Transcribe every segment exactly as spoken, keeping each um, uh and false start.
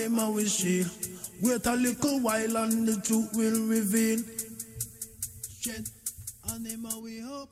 them a wish shield. Wait a little while and the truth will reveal. Strength and them a we hope.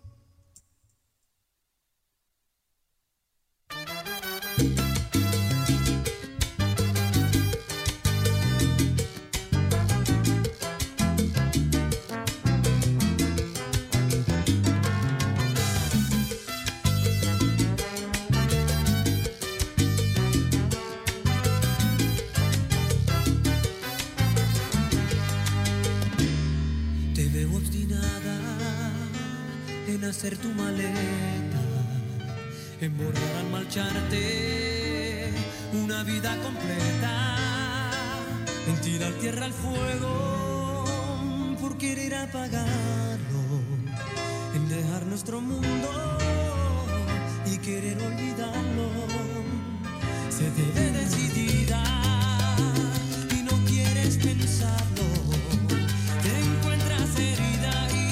Hacer tu maleta, en borrar al marcharte una vida completa, en tirar tierra al fuego por querer apagarlo, en dejar nuestro mundo y querer olvidarlo. Se te ve decidida y no quieres pensarlo, te encuentras herida y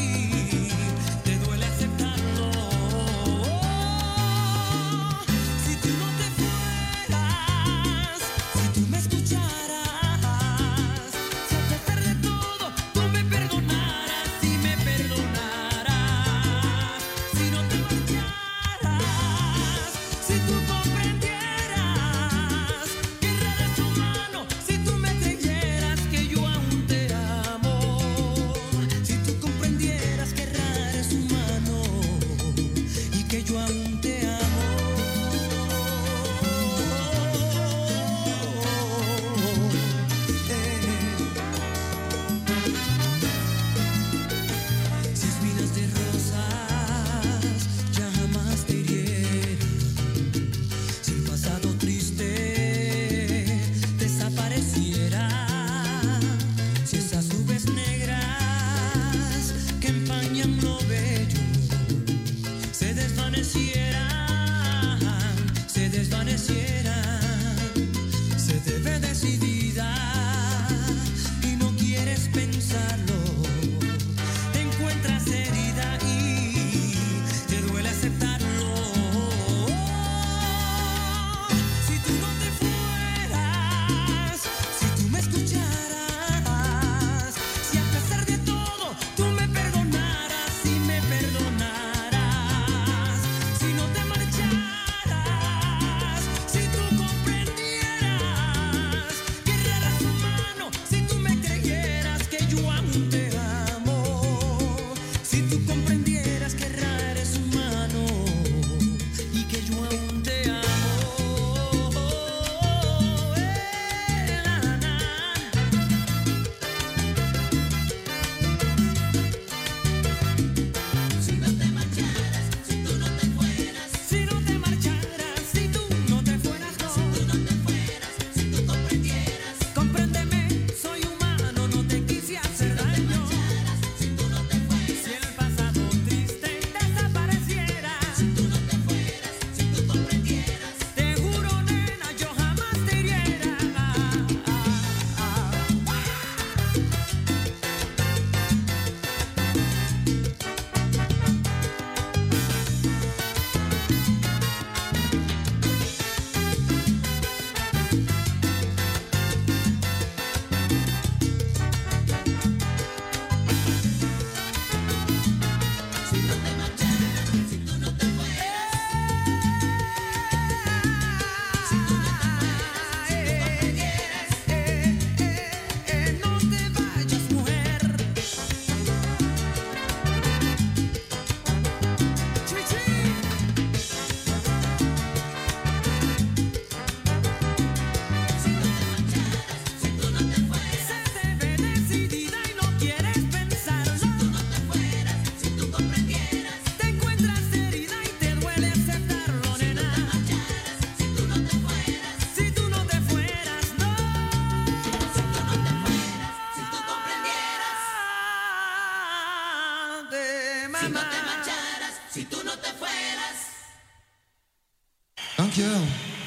Dankjewel.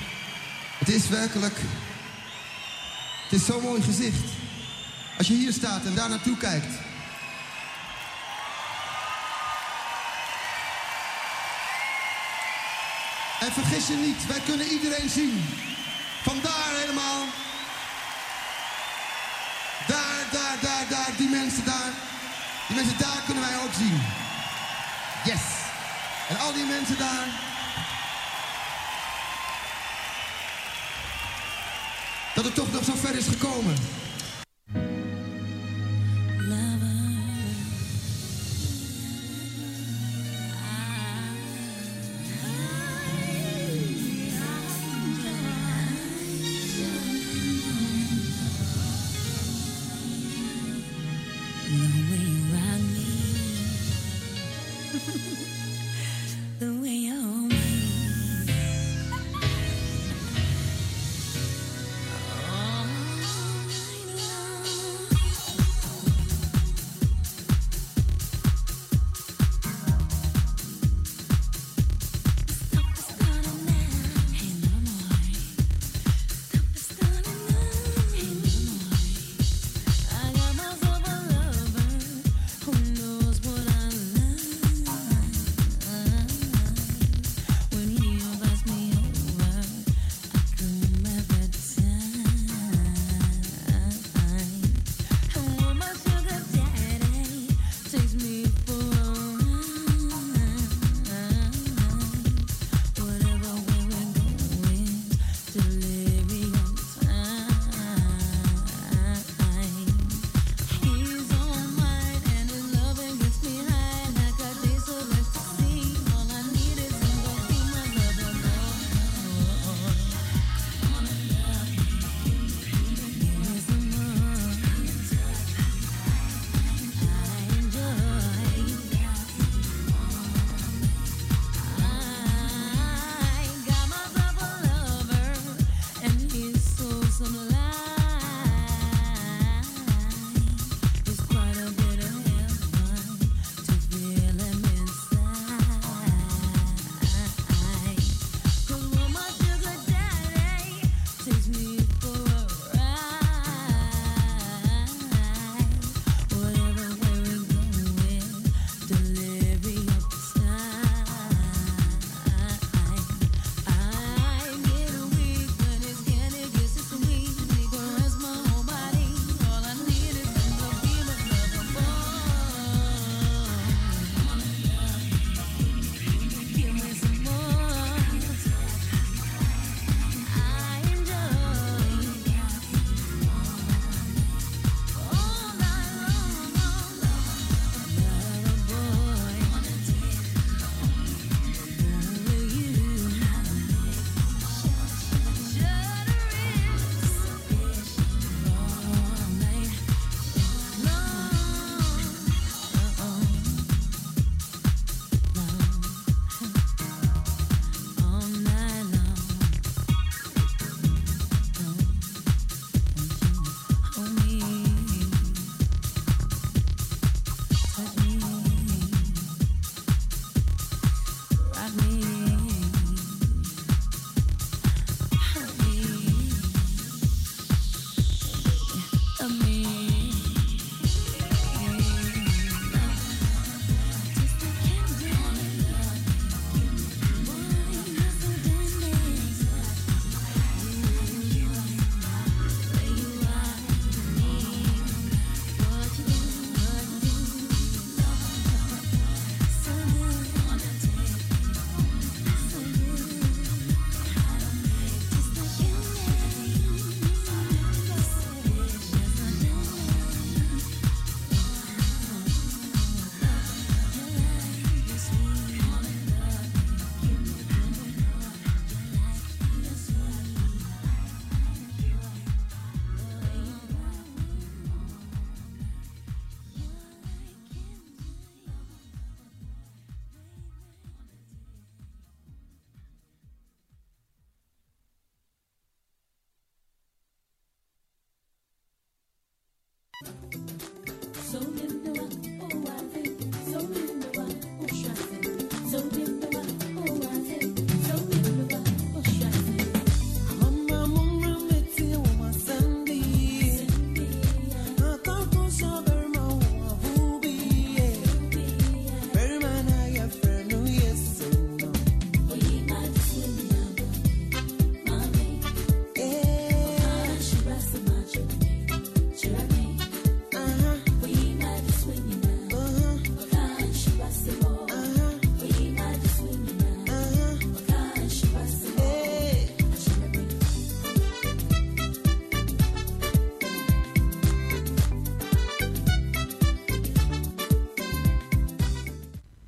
Het is werkelijk... Het is zo'n mooi gezicht. Als je hier staat en daar naartoe kijkt. En vergis je niet, wij kunnen iedereen zien. Vandaar helemaal mensen daar, die mensen daar kunnen wij ook zien. Yes. En al die mensen daar. Dat het toch nog zo ver is gekomen.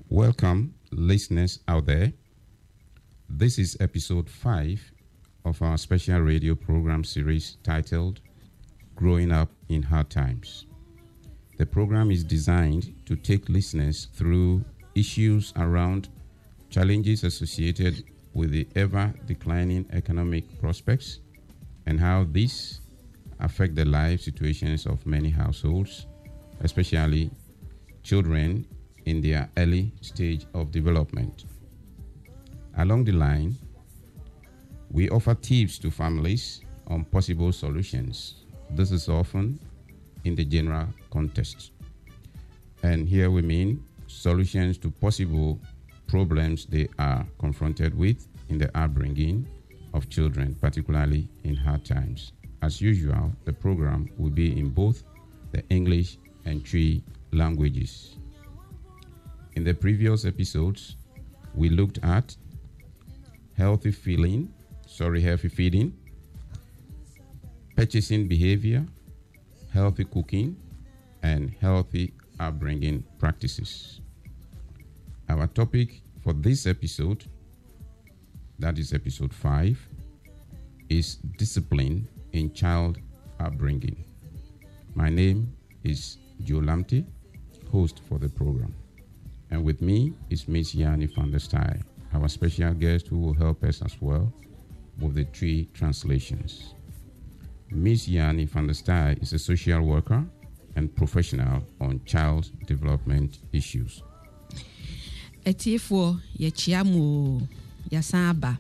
Welcome, listeners out there. This is episode five of our special radio program series titled Growing Up in Hard Times. The program is designed to take listeners through issues around challenges associated with the ever-declining economic prospects and how these affect the life situations of many households, especially children in their early stage of development. Along the line, we offer tips to families on possible solutions. This is often in the general context. And here we mean solutions to possible problems they are confronted with in the upbringing of children, particularly in hard times. As usual, the program will be in both the English and Twi languages. In the previous episodes, we looked at healthy feeling, sorry, healthy feeding, purchasing behavior, healthy cooking, and healthy upbringing practices. Our topic for this episode, that is episode five, is discipline in child upbringing. My name is Joe Lamte, host for the program. And with me is Miss Yanni van der Staaij, our special guest who will help us as well with the three translations. Miss Yanni van der Staaij is a social worker and professional on child development issues. Etiefo ye chiamu ya saba.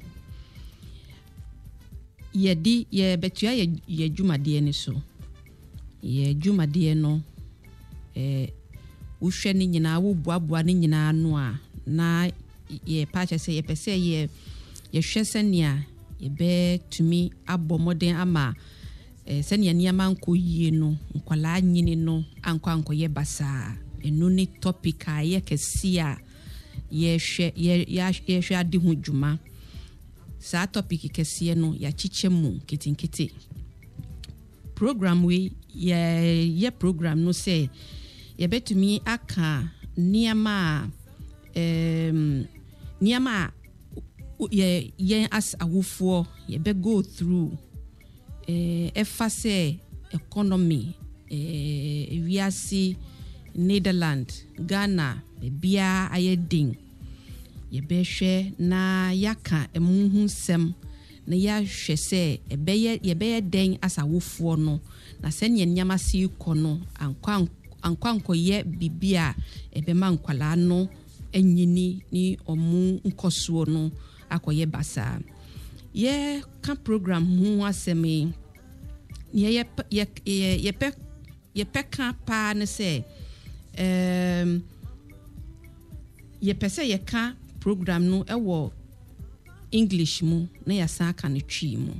Ye di ye betua ye ye dwumade ni so. Ye dwumade no eh uhwe ni nyina wo boaboa ni nyina no a na ye pacha se ye pese ye ye hwese nia ye be tumi abomoden ama eh senia niama nko yie no nkwala nyini no anko anko ye basa enu ni topic a ye kesi a ye hwe ye ye hwe ade hu dwuma sa topic kesi no ya chichemu kitinkiti program we ye ye program no say ye betumi aka niama um niama ye ye as awufo ye be go through eh efase economy eh wiase Netherlands Ghana bia ayedin ye be hwe na yaka emuhu sem na ya hwe se ebeye ye be den as awufo no na se ne nyama si kono ankwa ankwanko ye bibia ebema nkwala no enyini ni omu nkosuo no akoye basa ye ka program hu asemi ye ye ye ye pe ye pe ka pa ne se um ye pese ye ka program no ewo English mu na ya sa ka ne twi mu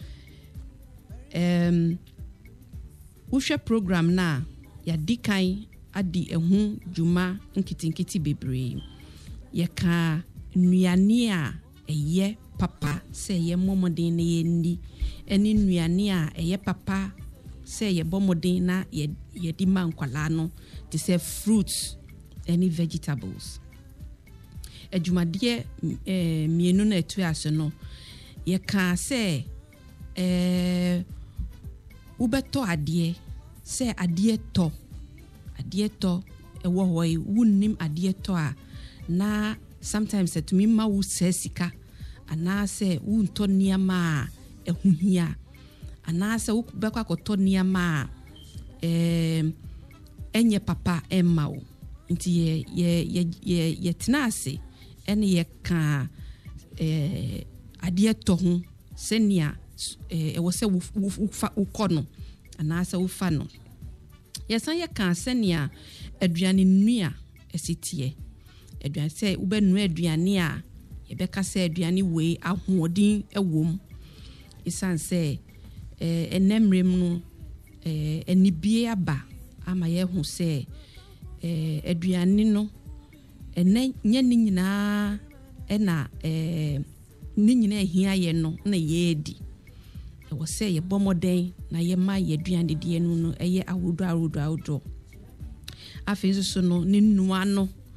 um uhwe program na ya dikai adi ehu juma nkitinkiti bebre ye ka nuane a eye papa se ye momodin na ye ndi eni nuane a eye papa se ye bomodin na ye ye di mankwala no to say fruits any vegetables ejumade eh mienu na etu ase no ye ka se eh ubeto ade se ade to ade to ewo hoy wunnim ade to a na sometimes it me ma wo sesika ana se wunto niama ehuhia ana se wo bekwa koto niama eh enye papa emma wo nti ye ye ye ye tenase ene ye ka eh ade to ho senia eh ewo se wo kono ana se wo fa no yesan ye kan senia aduane nua esitie aduane se wo be nua aduane a ye be ka se aduane we ahoodin ewom isan se eh enemrem no eh enibie aba ama ye hu se eh aduane no ene nya ni nyina ena eh ni nyina ehia ye no na ye di e wo se ye bomoden na ye ma ye aduane die no no eye awodo awodo awodo afenso so no ni nua no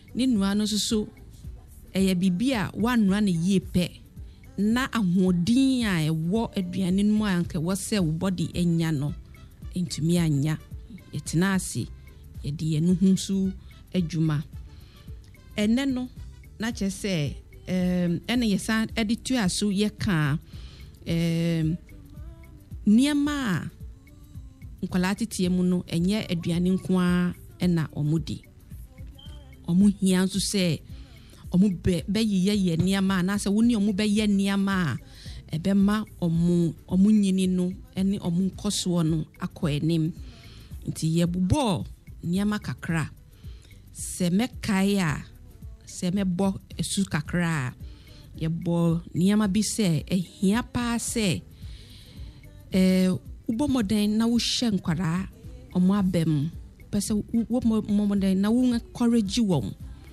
ne nua no so ɛyɛ bibia wanua ne yie pɛ na ahoɔden a ɛwɔ aduane no mu a anka wɔsɛ wo body anya no ntumi anya yɛtena ase yɛde yɛn ho so adwuma ɛnɛ no na kyɛ sɛ ɛm ɛna yɛsa ɛde tu aso yɛka ɛm nneɛma a nkwalaa teteɛ mu no ɛnyɛ aduane nko a ɛna ɔmo di ɔmo hia nso sɛ ɔmo bɛ bɛyɛ yɛ nneɛma na sɛ wo ne ɔmo bɛyɛ nneɛma a ɛbɛma ɔmo ɔmo nyini no ɛne ɔmo nkɔsoɔ no akɔ anim nti yɛbobɔ nneɛma kakra sɛ mɛkae a sɛ mɛbɔ esu kakra a yɛbɔ nneɛma bi sɛ ɛhia paa sɛ ɛɛ wobɔ mɔden na wohyɛ nkwaraa ɔmo abɛm pɛsɛ wobɔ mɔden na wo encourage wɔn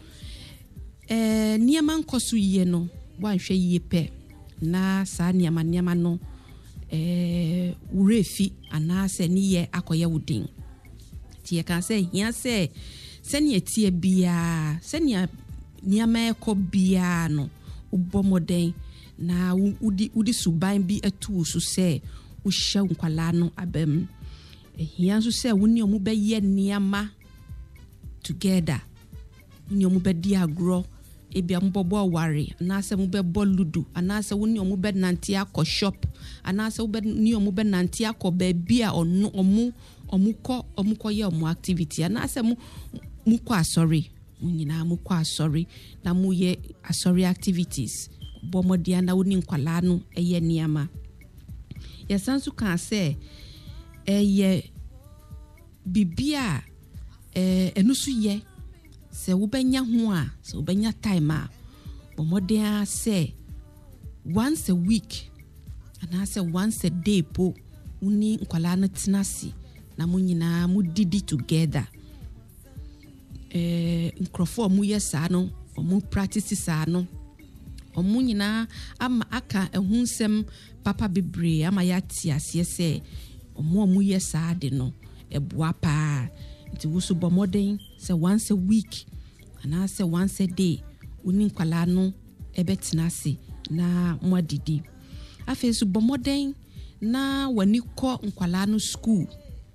ɛɛ nneɛma nkɔso yie no wanhwɛ yie pɛ na saa nneɛma nneɛma no ɛɛ wurefi anaasɛ ne yɛ akɔyɛ wodin tie kan sɛ hia sɛ sɛnea tie bia sɛnea nneɛma ɛkɔ bia no wobɔ mɔden na wudi wudi suban bi atu so sɛ wohyɛ nkwalaa no abɛm ehia nso sɛ wo ne ɔmo bɛyɛ nneɛma together ne ɔmo bɛdi agorɔ ebia mo bɔbɔ ware anaasɛ mo bɛbɔ ludo anaasɛ wo ne ɔmo bɛnante akɔ shop anaasɛ wo bɛ ne ɔmo bɛnante akɔ baabi a ɔno ɔmo ɔmo kɔ ɔmo kɔ yɛ ɔmo activity anaasɛ mo mo kɔ asɔre mo nyinaa mo kɔ asɔre na mo yɛ asɔre activities bɔ mɔdia na wo ne nkwalaa no ɛyɛ nneɛma yɛsan so kan sɛ ɛyɛ bibia ɛɛ ɛno so yɛ sɛ wobɛnya ho a sɛ wobɛnya time a bɔmɔden sɛ once a week anaasɛ once a day po woni nkwalaa no tena se na mo nyinaa mo didi together eh nkrofo mo yɛ saa no mo practice saa no ɔmo nyinaa ama aka ehun nsɛm papa bebree ama ya ti ase sɛ ɔmo ɔmo yɛ saa de no ɛboa paa nti wo so bɔmɔden sɛ once a week anaasɛ once a day woni nkwalaa no ɛbɛtena se na mo adidi afei so bɔmɔden na wani kɔ nkwalaa no school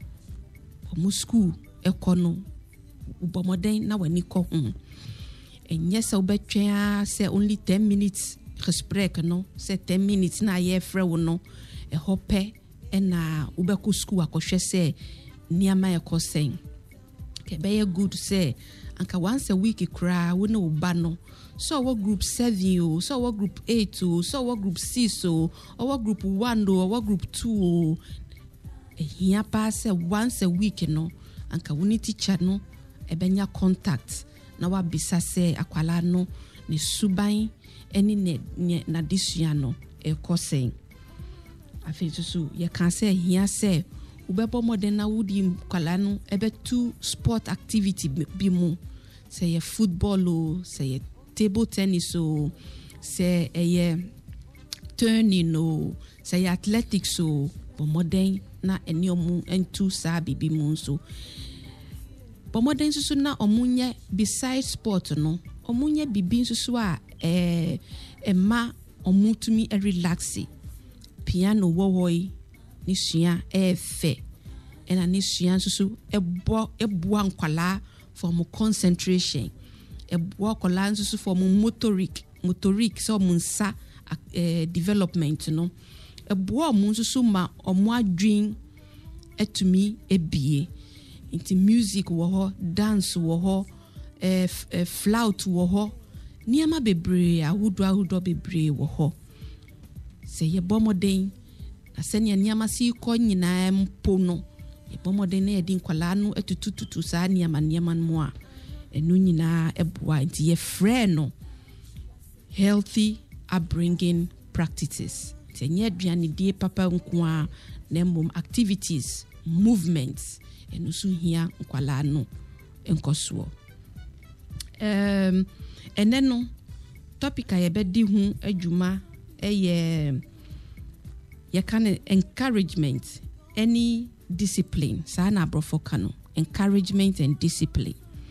ɔmo school ɛkɔ no bɔmɔden na wani kɔ ho ɛnyɛ sɛ wobɛtwɛn sɛ only ten minutes gesprek no sɛ ten minutes na yɛ frɛ wo no ɛhɔ pɛ ɛna wobɛkɔ school akɔhwɛ sɛ nneɛma ɛkɔ sɛn kɛbɛyɛ good sɛ anka once a week kra wo ne wo ba no so what group seven o so what group eight o so what group six o or what group one o or what group two o ehia pa sɛ once a week no anka wo ne teacher no ɛbɛnya contact na wabisa sɛ akwala no ne suban eni ne na desua no ɛkɔ sɛn afei so yɛ kan sɛ hia sɛ ubebo modern na wudi kwala no ɛbɛtu sport activity bi mu sɛ yɛ football o sɛ yɛ table tennis o sɛ ɛyɛ turning o sɛ yɛ athletics o bo modern na eni omu entu saa bibi mu so bo modern so na omunye beside sport no omunye bibi so a eh ema omutumi e relax piano wowoi ni sua e fe ena ni sua so ebo eboa nkwala for mo concentration eboa kwala so for mo motoric motoric so mo nsa eh, development no eboa mo so ma omo adwin etumi ebie into music wo ho dance wo ho eh, eh flout wo ho niama bebre ahudo ahudo bebre wo ho se ye bomoden na senia niama si ko nyina mpo no ye bomoden na ye din kwala no etutututu sa niama niama mo a enu nyina eboa nti ye frɛ no healthy upbringing practices tenye aduane die papa nko a na mbom activities movements enu so hia nkwala no enkoso um ene no topic a yebedi hu adwuma eye ye can encouragement any discipline sa na brofo kano encouragement and discipline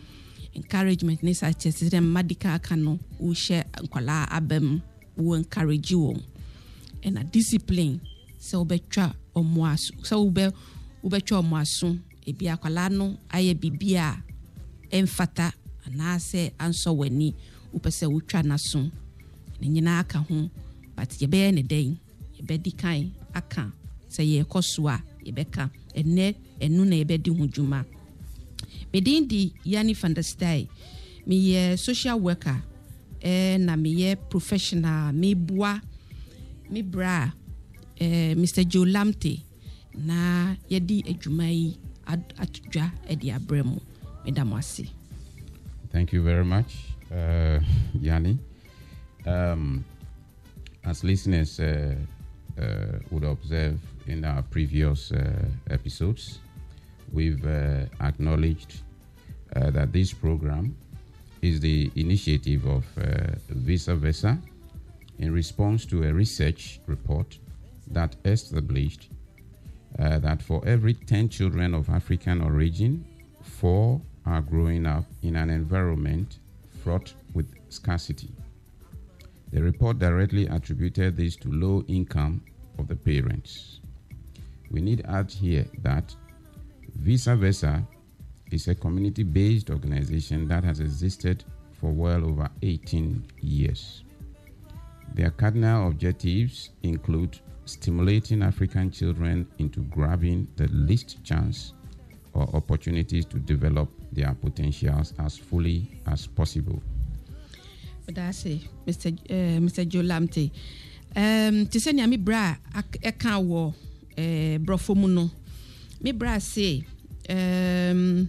encouragement ne sa kyerɛ sɛ medical aka no wo share nkwala abam wo encourage wo and a discipline sɛ wobɛtwa ɔmo aso sɛ wobɛ wobɛtwa ɔmo aso ebi akwala no ayɛ bibia emfata anaasɛ ansɔ wani wopɛ sɛ wotwa naso ne nyina aka ho but yɛbɛyɛ ne dɛn yɛbɛdi kan aka sɛ yɛkɔ so a yɛbɛka ɛnɛ ɛnu na yɛbɛdi ho dwuma medin di Yani van der Stay meyɛ social worker eh, na meyɛ professional meboa me bra eh, Mister Joe Lamte na yɛdi adwuma yi atodwa ɛdi abrɛ mu medam ase. Thank you very much, uh, Yani. Um, as listeners uh, uh, would observe in our previous uh, episodes, we've uh, acknowledged uh, that this program is the initiative of uh, Visa Versa in response to a research report that established uh, that for every ten children of African origin, four are growing up in an environment fraught with scarcity. The report directly attributed this to low income of the parents. We need to add here that Visa Versa is a community-based organization that has existed for well over eighteen years. Their cardinal objectives include stimulating African children into grabbing the least chance or opportunities to develop their potentials as fully as possible. But I say, Mister Uh, Mister Joe Lamte, um, to send me bra a can war, uh, brofomuno. Me bra say, um,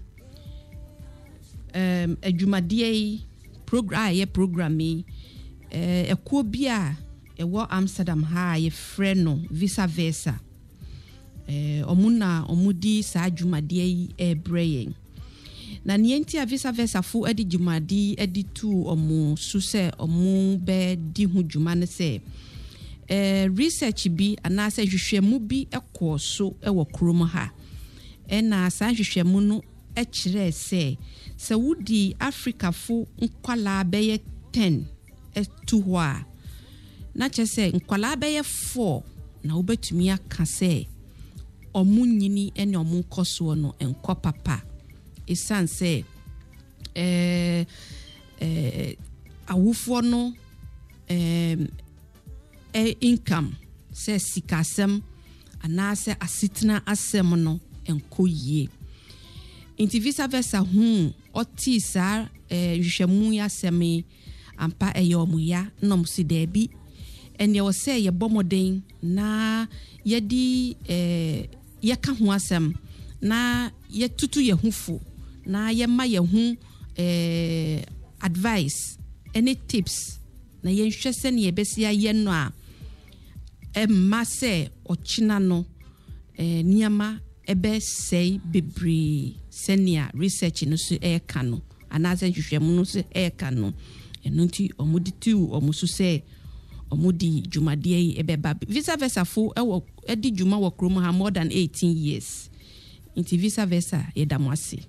um, a Jumadie program, a program me, a Kubia, a war Amsterdam high, a friend no, Visa Versa. Eh, omuna omudi sa Jumadie e braying. Na nienti a Visa Versa fu edi Jumadi edi tu omu suse omu be di hu jumane se eh, research bi anase hwehwemu bi ekɔ so ewo krom ha ena sa hwehwemu no e kyerɛ se se wudi Africa fu nkwala bɛyɛ ten etu hɔ a na kyerɛ se nkwala bɛyɛ four na wobetumi aka se omu nyini ene omu nkɔso no enkɔ papa esan se eh eh awufo no eh eh income se sikasem anase asitna asem no enko yie inti Visa Versa hu oti sa eh hwehwemu ya semi ampa eyo ya no msi debi ene wo se ye bomoden na yedi eh yeka ho asem na ye tutu ye hufo na ye ma ye hu eh advice any tips na ye hwɛ se ne ye besia ye no a e ma se ochina no eh niama ebe sei bebre senia research no so e ka no anaze hwehwɛmu no so e ka no eno nti omudi tu omusu se omudi Jumadie ebe ba Visa Versa fo e wo edi juma wo krom ha more than eighteen years. Inti Visa Versa yedamwasi.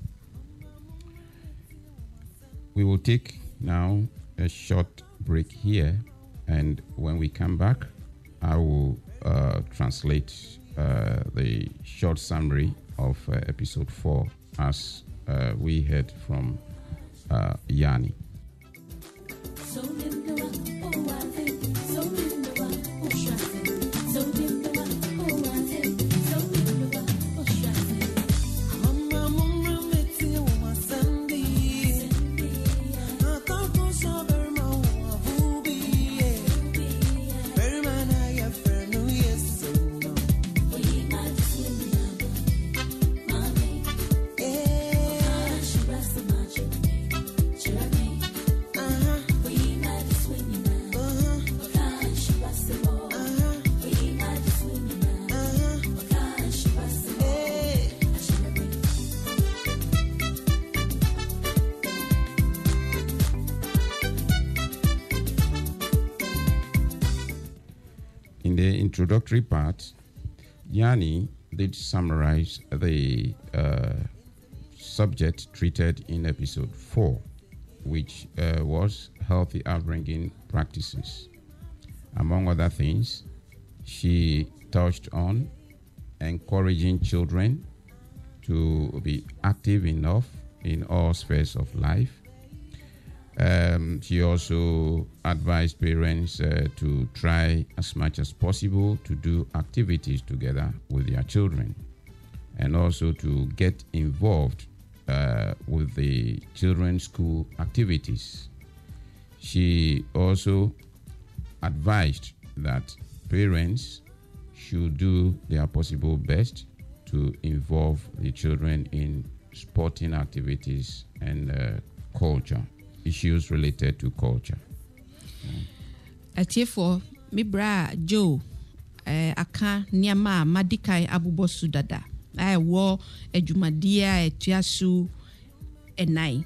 We will take now a short break here, and when we come back, I will uh, translate uh, the short summary of uh, episode four as uh, we heard from uh, Yani. In the introductory part, Yani did summarize the uh, subject treated in episode four, which uh, was healthy upbringing practices. Among other things, she touched on encouraging children to be active enough in all spheres of life. Um, she also advised parents uh, to try as much as possible to do activities together with their children, and also to get involved uh, with the children's school activities. She also advised that parents should do their possible best to involve the children in sporting activities and uh, culture. Issues related to culture. Atiefo mi bra Joe eh, aka niama madikai abubosu dada ai wo adwumadia etuasu enai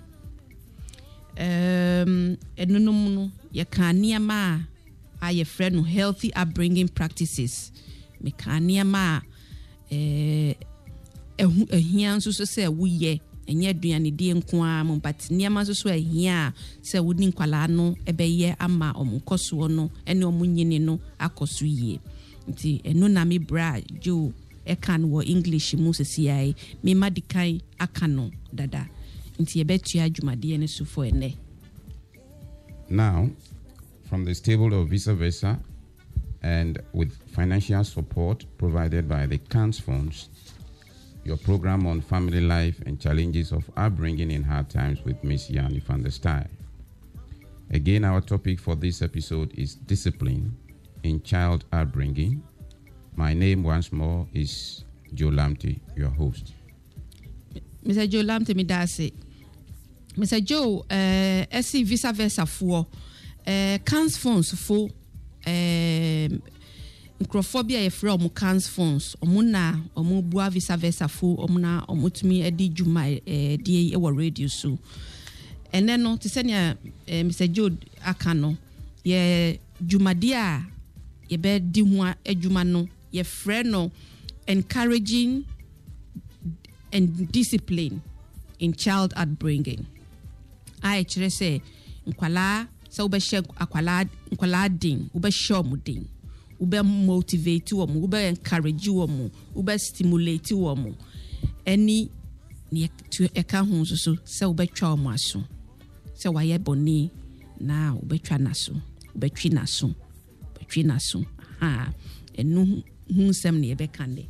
um enunum no ye kan niama a ye frɛ no healthy upbringing practices me kan niama eh ehu ehia nso so sɛ woyɛ enye aduane die nko a mo but niama so so ehia sɛ wodi nkwala no ebɛyɛ ama omunkoso no ene omunyini no akoso yie nti eno na me bra jo e kan wo English mu sesiai me madikai aka no dada nti ebetua adwumade ne so for ene. Now, from the stable of Vice Versa and with financial support provided by the C A N S funds, your program on family life and challenges of upbringing in hard times with Miss Yanni van der Staaij. Again, our topic for this episode is discipline in child upbringing. My name once more is Joe Lamte, your host. Mister Joe Lamte midase. Mister Joe, uh, esi Vice Versa for uh, C A N S funds for uh, Microphobia ye fra omu C A N S funds omuna omu bua Vice Versa fo omuna omutumi edi juma eh die e wo radio so ene no te se ne eh, Mister Joe aka no ye jumade a ye be di ho adwuma no ye fra no encouraging and discipline in child upbringing. I kire se nkwala se obehye akwala nkwala din obehye omudin ube motivate womu, ube encourage womu, ube stimulate womu. Any ni to eka hu so so se ube twa omu aso. Se waye boni na ube twa naso, ube twi naso, ube twi naso. Ha, enu hu sem ni ebe kande.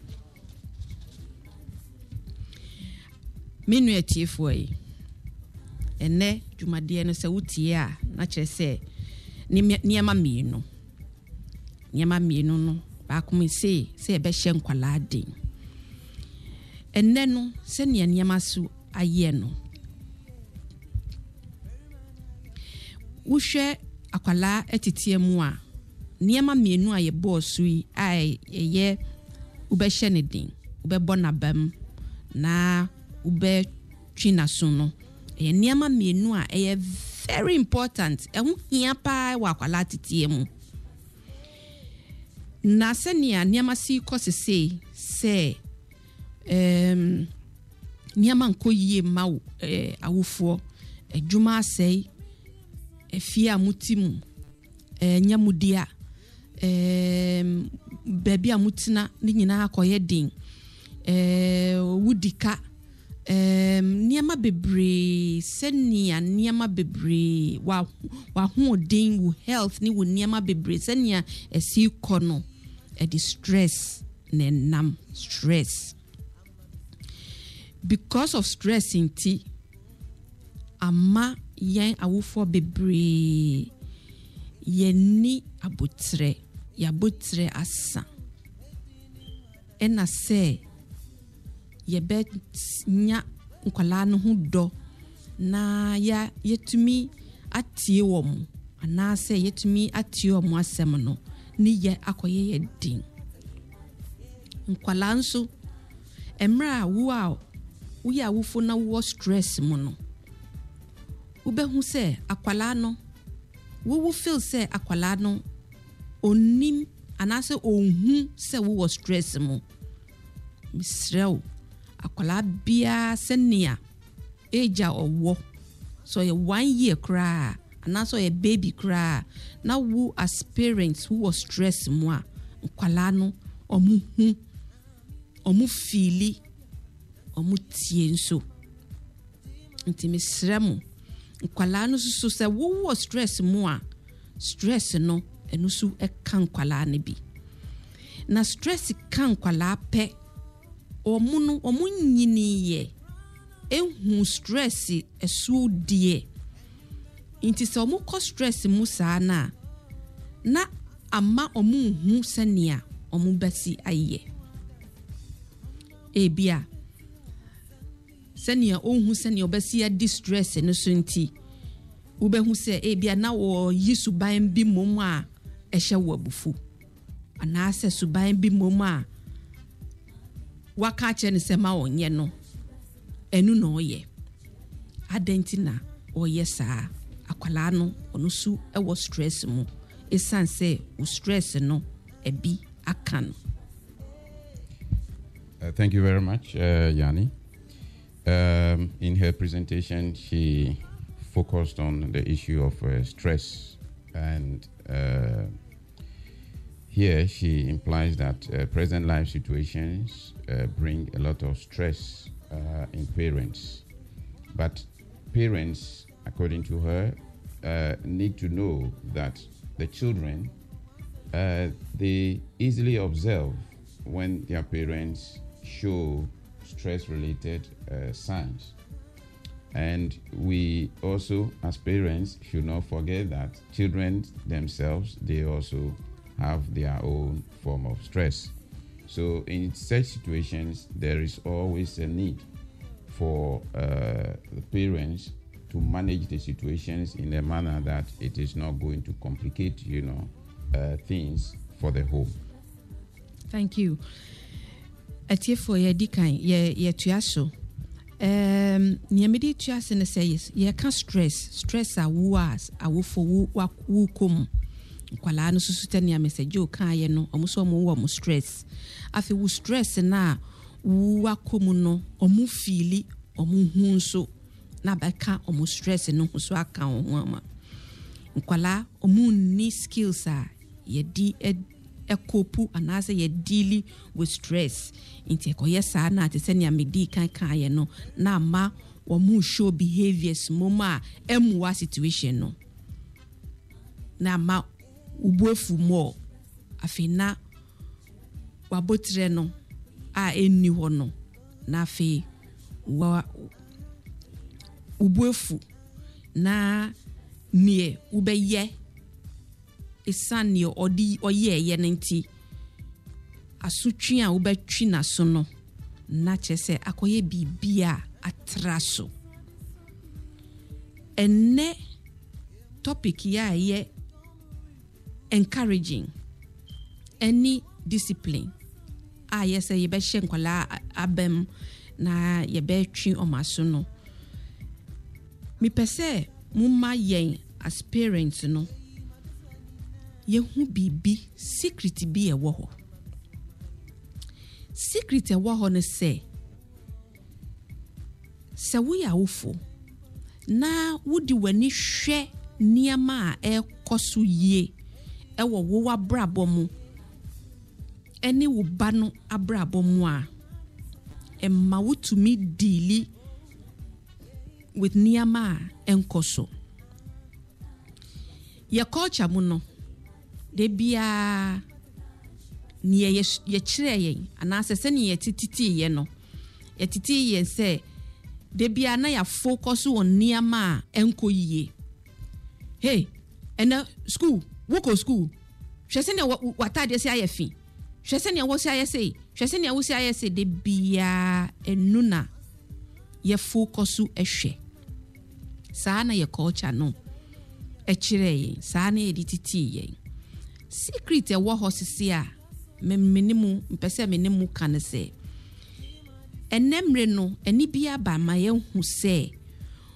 Minu etiefo yi. Ene dwumade no se wutie a na kire se ni niema mienu. Nyama mienu no ba kuma se se ebe hye nkwala den enne no se ne nyama su aye no wohwe akwala etitie mu a nyama mienu a ye boss yi ai ye ube hye ne den ube bona bam na ube twina so no ye nyama mienu a ye very important ehu hia pa wa akwala titie mu na senia niama si kosese se em niama nko yie ma eh, awufo adwuma asai efia mutimu eh, nyamudia em baby amutina ni nyina akoye din eh wudika em niama bebre senia niama bebre wa wa hu din wu health ni wu niama bebre senia esi kono e di stress ne nam stress because of stress inti ama yen awufo bebre yeni abutre ya butre asa ena se yebe nya nkwala no hu do na ya yetumi atie wom ana se yetumi atie wom asem no ni ye akoye ye din nkwala nso emra wo a wo ya wofo na wo stress mu no ubehu se akwala no wo wo feel se akwala no onim ana se onhu se wo stress mu misrew akwala bia senia eja owo so ye one year cry and also a baby cry now who as parents who was stress moi nkwala no omu hu omu fili omu tie nso nti mesremu nkwala no so se wo wo stress moi stress no enu so e kan nkwala ne bi na stress kan nkwala pe omu no omu nyini ye ehu stress esu die inti se omu ko stress mu saa na na ama omu hu senia omu basi aye ebia senia ohu senia obasi a distress no so nti ubehu se ebia na wo yisu ban bi mom a ehye wo abufu ana se suban bi mom a waka che ne se ma onye no enu na oye adentina oye saa akwala no onusu ewo stress mu esan se u stress no ebi akan. Uh, thank you very much, uh, Yanni. Um, in her presentation, she focused on the issue of uh, stress, and uh, here she implies that uh, present life situations uh, bring a lot of stress uh, in parents. But parents, according to her, uh, need to know that the children, uh, they easily observe when their parents show stress-related uh, signs. And we also, as parents, should not forget that children themselves, they also have their own form of stress. So in such situations, there is always a need for uh, the parents to manage the situations in a manner that it is not going to complicate, you know, uh, things for the home. Thank you. Atiefo ye dikan ye ye tuaso. Um nyamedi tuase ne says ye can stress stress a was a wo for wo wo kom. Kwala no susuta ne message o kan ye no omuso mo wo mo stress. Afi wo stress na wo akom no omu fili omu hu nso na baka omu stress no so aka ho ama. Nkwala omu ni skills a ye di ekopu anase ye dealing with stress inti ekoye saa na te se nia medi kan kan ye no na ma wo mu show behaviors moma emwa situation no na ma ubuefu mo afina wabotre no a enni ho no na afi wa ubuefu na nie ubeye isani odi oye ye nti asutwi a wobetwi na so no na chese akoye bibia atraso enne topic ya ye encouraging any discipline a yese ye be hye nkwala abem na ye be twi omaso no mi pese mumma yen as parents no yehu bibi secret bi e wo ho secret e wo ho ne se se wo ya wofo na wodi wani hwe niama a e koso yie e wo wo abrabo mu eni wo ba no abrabo mu a e ma wotumi deali with niama enkoso ye culture mu no de bia ni ye ye kire yen anase se ni ye tititi ye no ye titi ye se de bia na ya focus on niama enko yie hey ena school woko school hwese ne watade se ayefi hwese ne wo se ayese hwese ne wo se ayese de bia enuna ye focus ehwe saa na ye culture no e kire yen saa na ye titi yen secret e wo hosisi a memenimu mpese menemu kan se enemre no eni bia ba ma ye hu se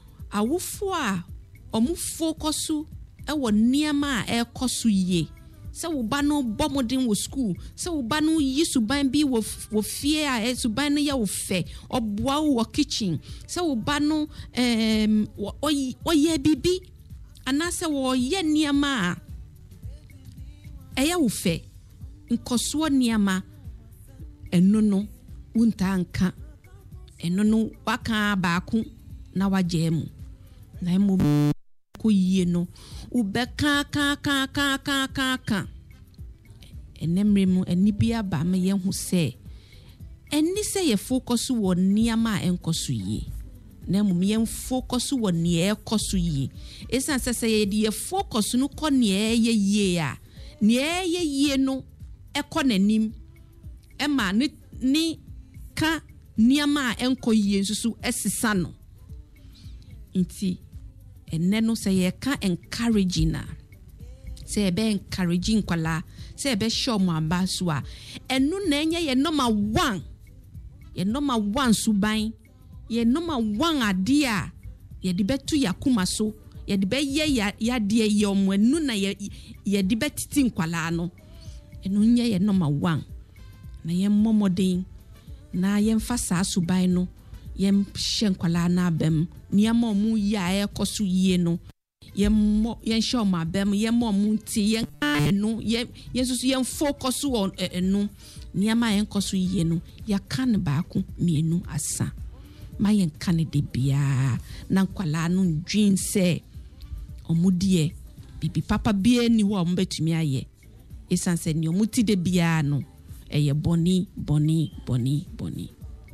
awofo a omu focusu e wo niama a e koso yie sɛ wo ba no bɔ modern wo school sɛ wo ba no yi suban bi wo wo fie a e suban no yɛ wo fɛ ɔboa wo kitchen sɛ wo ba no em ɔyɛ bibi anase wo yɛ nneɛma a ɛyɛ wo fɛ nkɔsoɔ nneɛma ɛno no wunta nka ɛno no waka baako na wagye mu na emu ko yie no ubeka ka ka ka ka ka ka enemre mu enibia ba me ye hu se eni se ye focus wo niama enkoso yie na mu ye focus wo ne ekoso yie esan se se ye die focus no ko ne ye yie a ne ye yie no ekọ nanim e ma ni ni ka niama enko yie nsusu esisa no nti enne no say ye ka encouraging na say be encouraging kwala say be show mo aba so a enu na enye ye number one ye number one suban ye number one ade a ye de betu yakuma so ye de be ye ya de ye omo enu na ye ye de betiti nkwala no enu nye ye number one na ye momodin na ye mfa sa suban no yem shenkwala na bem niama mu ya ekoso yie no yem yen show ma bem yem mu ti yen enu yen yesusu yen focus on enu niama yen koso yie no ya kan baako mienu asa ma yen kan de bia na nkwala no dwin se omudie bibi papa bia ni wo mbetumi aye esanse ni omuti de bia no eye boni boni boni boni.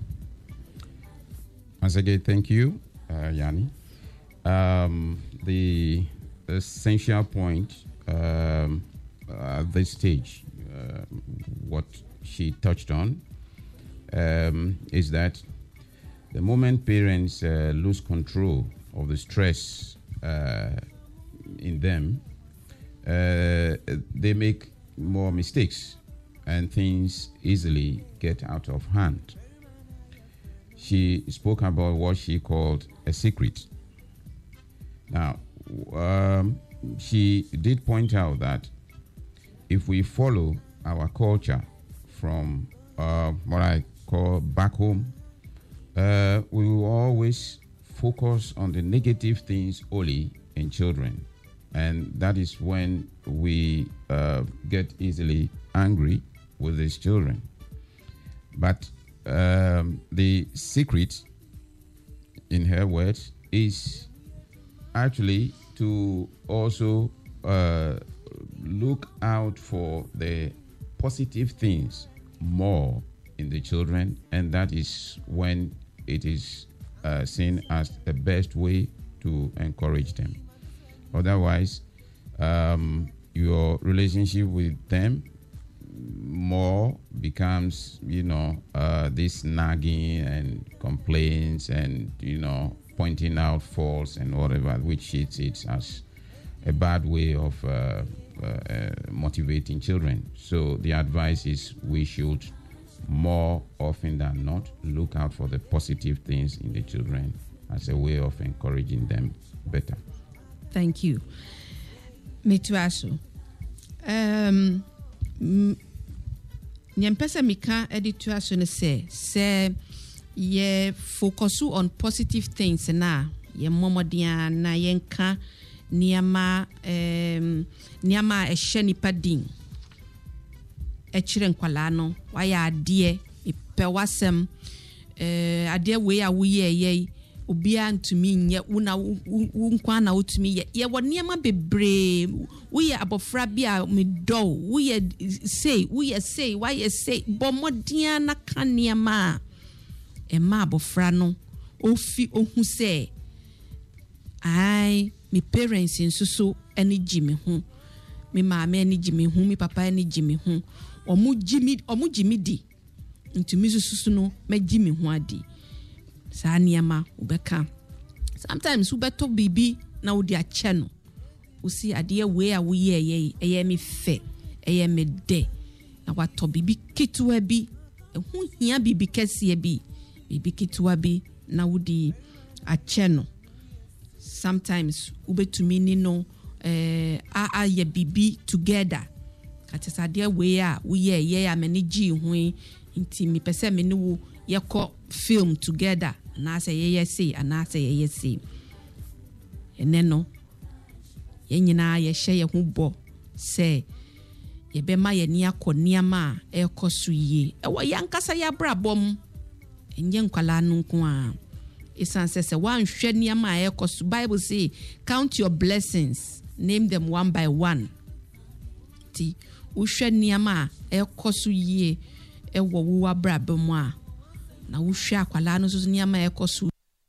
Once again, thank you, uh, Yanni. Um, the essential point um, at this stage, uh, what she touched on, um, is that the moment parents uh, lose control of the stress uh, in them, uh, they make more mistakes and things easily get out of hand. She spoke about what she called a secret. Now, um, she did point out that if we follow our culture from uh, what I call back home, uh, we will always focus on the negative things only in children. And that is when we uh, get easily angry with these children. But Um, the secret, in her words, is actually to also uh, look out for the positive things more in the children, and that is when it is uh, seen as the best way to encourage them. Otherwise, um, your relationship with them more becomes, you know, uh, this nagging and complaints and, you know, pointing out faults and whatever, which she sees as a bad way of uh, uh, uh, motivating children. So the advice is we should more often than not look out for the positive things in the children as a way of encouraging them better. Thank you. Metuaso. Um, nyempesa mika edituaso ne se se ye focus on positive things na ye momodia na yenka niama em niama ehye nipa din echire nkwala no waya ade ipe wasem eh ade we a wo ye ye obia ntumi nye una nkwa na otumi ye ye woniema bebre wo ye abofra bia me do wo ye say wo ye say why ye say bomodia na kaniema e ma abofra no ofi ohu say ai me parents nsusu eni jimi hu me maame eni jimi hu me papa eni jimi hu omu jimi omu jimi di ntumi susu no me jimi hu adi sa niema ubeka sometimes ubeto bibi na udi ache no usi ade we a wo ye ye eye me fe eye me de na wato bibi kitwa bi ehu hia bibi kese bi bibi kitwa bi na udi ache no sometimes ubetumi ni no eh a a ye bibi together atesade we a wo ye ye a mani gi ho nti me pese me ne wo ye ko film together na say ye ye say ana say ye ye say ene no ye nyina ye hye ye ho bo say ye be ma ye ni akoni ma e koso yie e wo yankasa ya brabom enye nkwala no nko a isan say say wan hwe ni ma e koso Bible say count your blessings, name them one by one. Ti wo hwe ni ma e koso yie e wo wo abrabom a na wo hwe akwala no so ni ma e koso.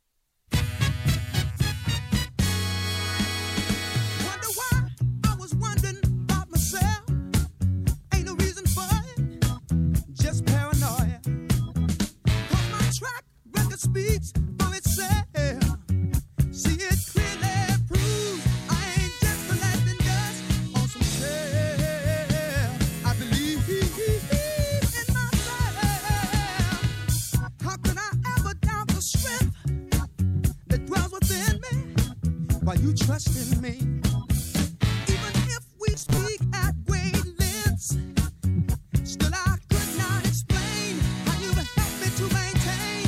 Speaks for itself. See it clearly proves I ain't just collecting dust on some shelf. I believe in myself. How can I ever doubt the strength that dwells within me while you trust in me? Even if we speak at great lengths, still I could not explain how you helped me to maintain.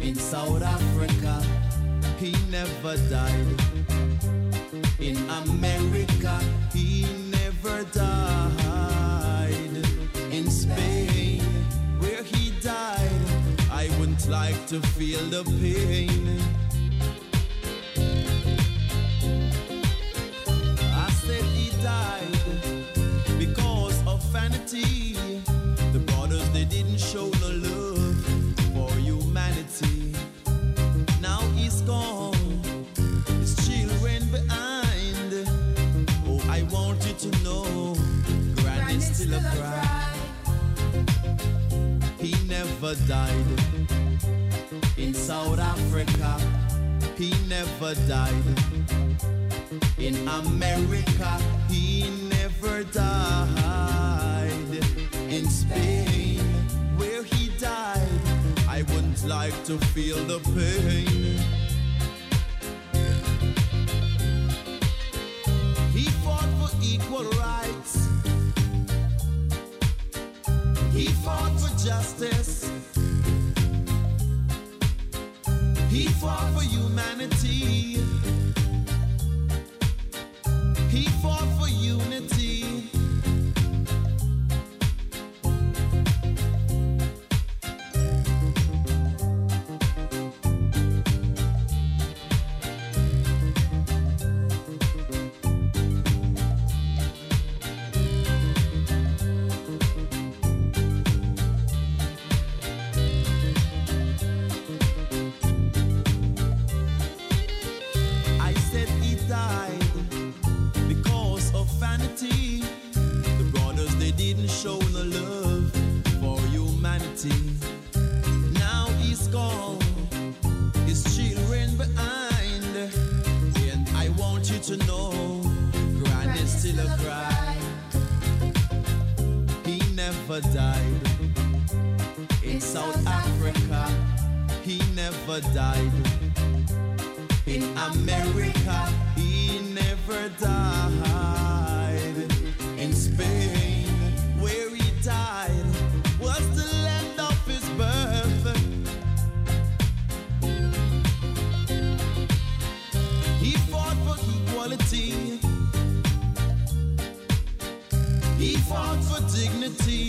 In South Africa, he never died. In America, he never died. In Spain, where he died, I wouldn't like to feel the pain. I said he died because of vanity. The brothers, they didn't show no love for humanity. Now he's gone, his children behind. Oh, I want you to know, Granny's still a cry. He never died. In South Africa, he never died. In America, he never died. In Spain, where he died, I wouldn't like to feel the pain. He fought for equal rights. He fought for justice. He fought for humanity. He fought for unity. Show no love for humanity. Now he's gone, his children behind. And I want you to know, Granny's still a cry. He never died. In South Africa, he never died. In America, he never died. In Spain, where he died, was the land of his birth. He fought for equality. He fought for dignity.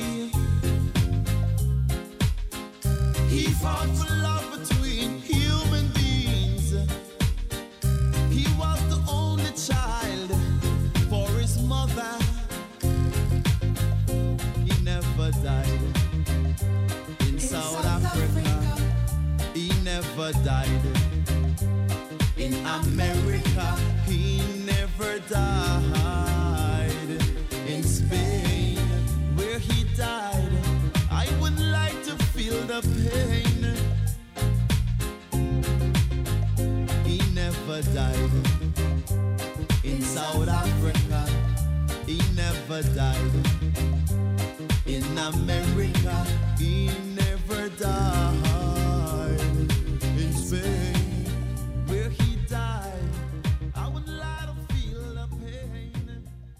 He fought for love between human beings. He was the only child for his mother. Died. In, in South, South Africa, Africa, he never died. In America, he never died. In Spain, where he died, I would like to feel the pain. He never died. In South Africa, he never died. In America, he never died. In Spain, where he died, I would like to feel the pain.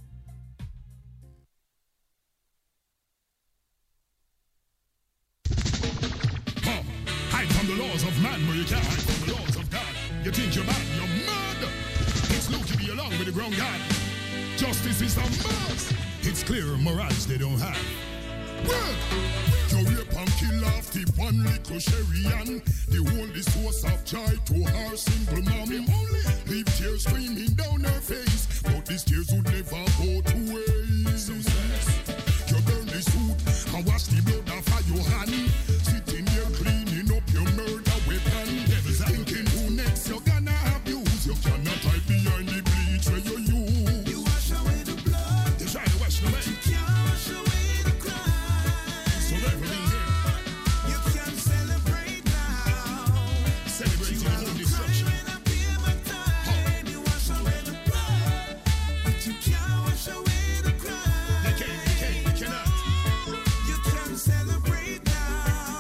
Huh. Hide from the laws of man, where you can't hide from the laws of God. You think you're bad, you're mad. It's Luke to be along with the ground God. Justice is a must. It's clear morals they don't have. You rape and kill off the one little Sherry Ann, the only source of joy to her single mom. Leave tears streaming down her face, but these tears would never go to waste. So you burn the suit and wash the blood off of your hand, sitting there cleaning up your murder weapon. Devil's thinking who next you're gonna abuse. You cannot hide behind the bleach where you use. You wash away the blood. You try to wash the way. You can't wash away. You can celebrate now. Celebrate your own destruction. You wash away the blood, but you can't wash away the crime. You can, you can, you cannot. You can celebrate now.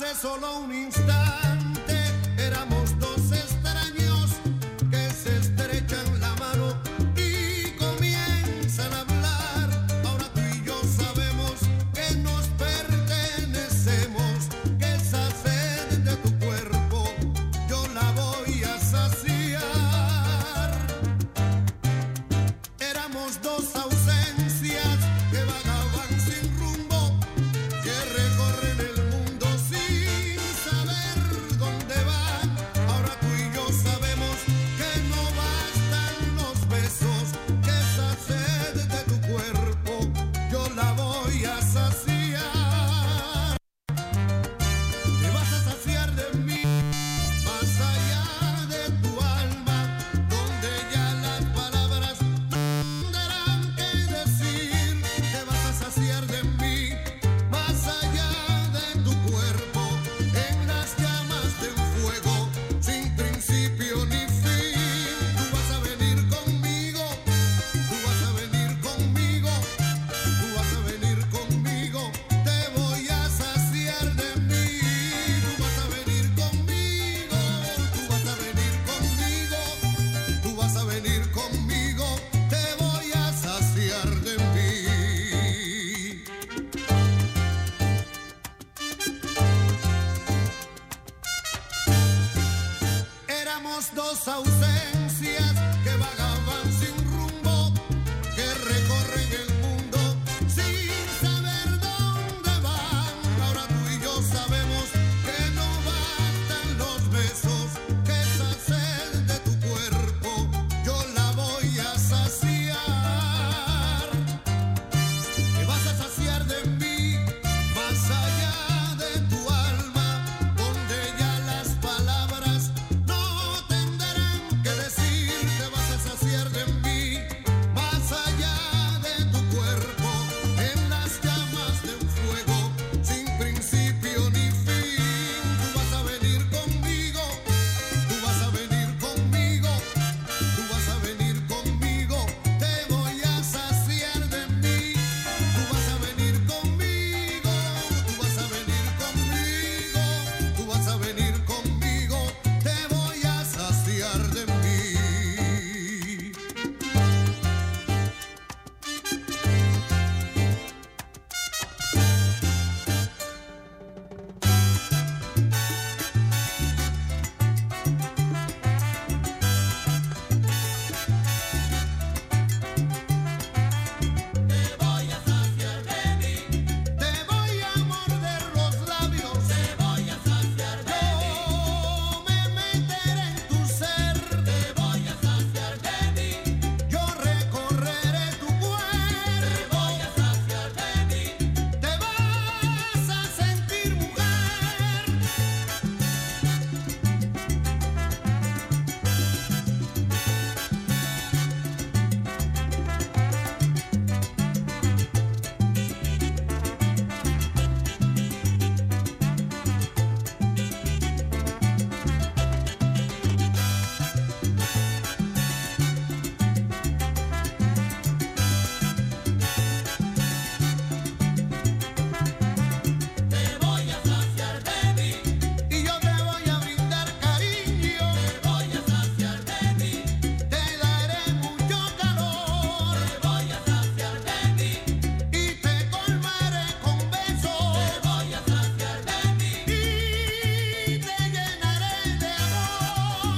Hace solo un instante éramos dos extraños que se estrechan la mano y comienzan a hablar. Ahora tú y yo sabemos que nos pertenecemos, que esa sed de tu cuerpo yo la voy a saciar. Éramos dos ausencias que vagaban sin rumbo, que recorren el mundo sin saber dónde van. Ahora tú y yo sabemos que no bastan los besos, que esa sed de tu cuerpo yo la voy a saciar. Te vas a saciar de mí, más allá de tu alma, donde ya las palabras no tendrán que decir. Te vas a saciar de mí, más allá de tu cuerpo, en las llamas de un fuego sin principio ni fin. Tú vas a venir conmigo, tú vas a venir conmigo, tú vas a venir conmigo, te voy a saciar de mí. Tú vas a venir conmigo, tú vas a venir conmigo, tú vas a venir conmigo, te voy a saciar de mí. Éramos dos ausencias que vagaban sin rumbo, que recorren el mundo sin saber dónde van. Ahora tú y yo sabemos que no bastan los besos, que esa sed de tu cuerpo yo la voy a saciar. Te vas a saciar de mí, más allá de tu alma, donde ya las palabras no tendrán que decir. Te vas a saciar de mí, más allá de tu cuerpo, en las llamas de un fuego sin principio ni fin. Tú vas a venir conmigo, tú vas a venir conmigo, tú vas a venir conmigo, te voy a saciar de mí. Tú vas a venir conmigo, tú vas a venir conmigo, tú vas a venir conmigo, te voy a saciar de mí. Te voy a morder los labios, te voy a saciar de mí. Yo me meteré en tu ser, te voy a saciar de mí. Yo recorreré tu cuerpo, te voy a saciar de mí. Te vas a sentir mujer. Te voy a saciar de mí. Y yo te voy a brindar cariño, te voy a saciar de mí. Te daré mucho calor, te voy a saciar de mí. Y te colmaré con besos, te voy a saciar de mí. Y te llenaré de amor.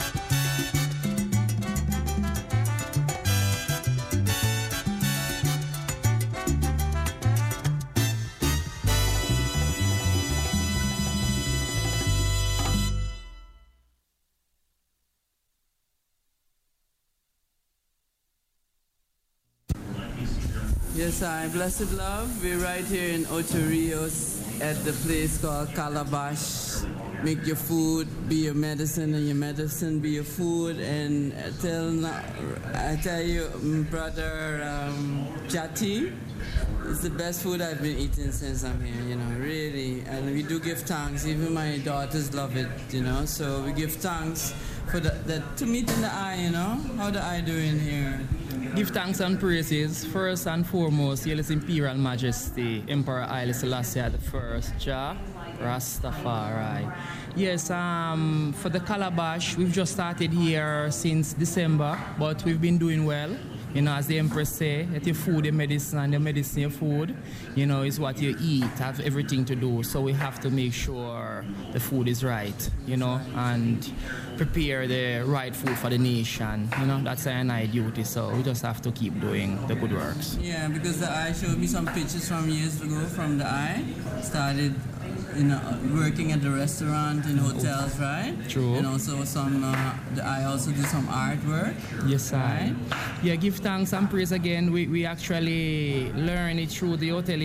Yes, I blessed love. We're right here in Ocho Rios at the place called Calabash. Make your food be your medicine, and your medicine be your food. And I tell, I tell you, mm, brother um, Jati, it's the best food I've been eating since I'm here. You know, really. And we do give thanks. Even my daughters love it. You know, so we give thanks for the, that to meet in the eye. You know, how the eye doing here? Give thanks and praises. First and foremost, Hail His Imperial Majesty, Emperor Haile Selassie the First, Jah Rastafari. Yes, um, for the Calabash, we've just started here since December, but we've been doing well. You know, as the Empress say, that your food, your medicine, and your medicine, your food, you know, is what you eat, have everything to do. So we have to make sure the food is right, you know, and prepare the right food for the nation. You know, that's our night duty, so we just have to keep doing the good works. Yeah, because the eye showed me some pictures from years ago from the eye. Started, you know, working at the restaurant, in hotels, right? True. And also some, uh, the eye also do some artwork. Yes, I. Right? Yeah, give thanks and praise again. We, we actually learn it through the hotel